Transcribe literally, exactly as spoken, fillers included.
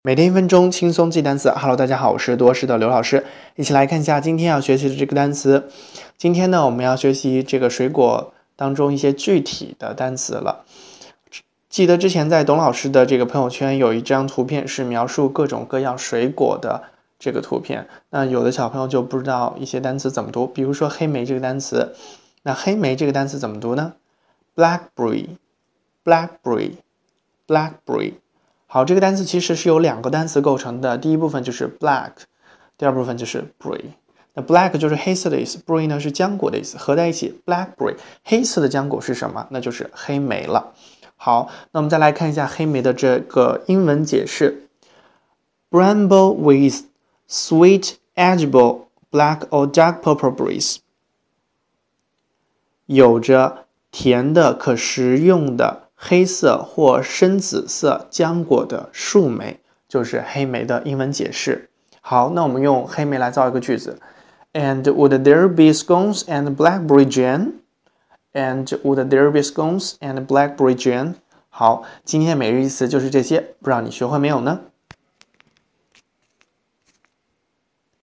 每天一分钟轻松记单词。Hello， 大家好，我是多识的刘老师，一起来看一下今天要学习的这个单词。今天呢，我们要学习这个水果当中一些具体的单词了。记得之前在董老师的这个朋友圈有一张图片是描述各种各样水果的这个图片，那有的小朋友就不知道一些单词怎么读，比如说黑莓这个单词，那黑莓这个单词怎么读呢？ Blackberry Blackberry Blackberry。 好，这个单词其实是由两个单词构成的，第一部分就是 black， 第二部分就是 berry。 那 black 就是黑色的意思， berry 呢是浆果的意思，合在一起 blackberry， 黑色的浆果是什么？那就是黑莓了。好，那我们再来看一下黑莓的这个英文解释。 Bramble with sweet edible black or dark purple berries， 有着甜的可食用的黑色或深紫色浆果的树莓，就是黑莓的英文解释。好，那我们用黑莓来造一个句子。 And would there be scones and blackberry jam? And would there be scones and blackberry jam? 好，今天每日一词就是这些，不知道你学会没有呢？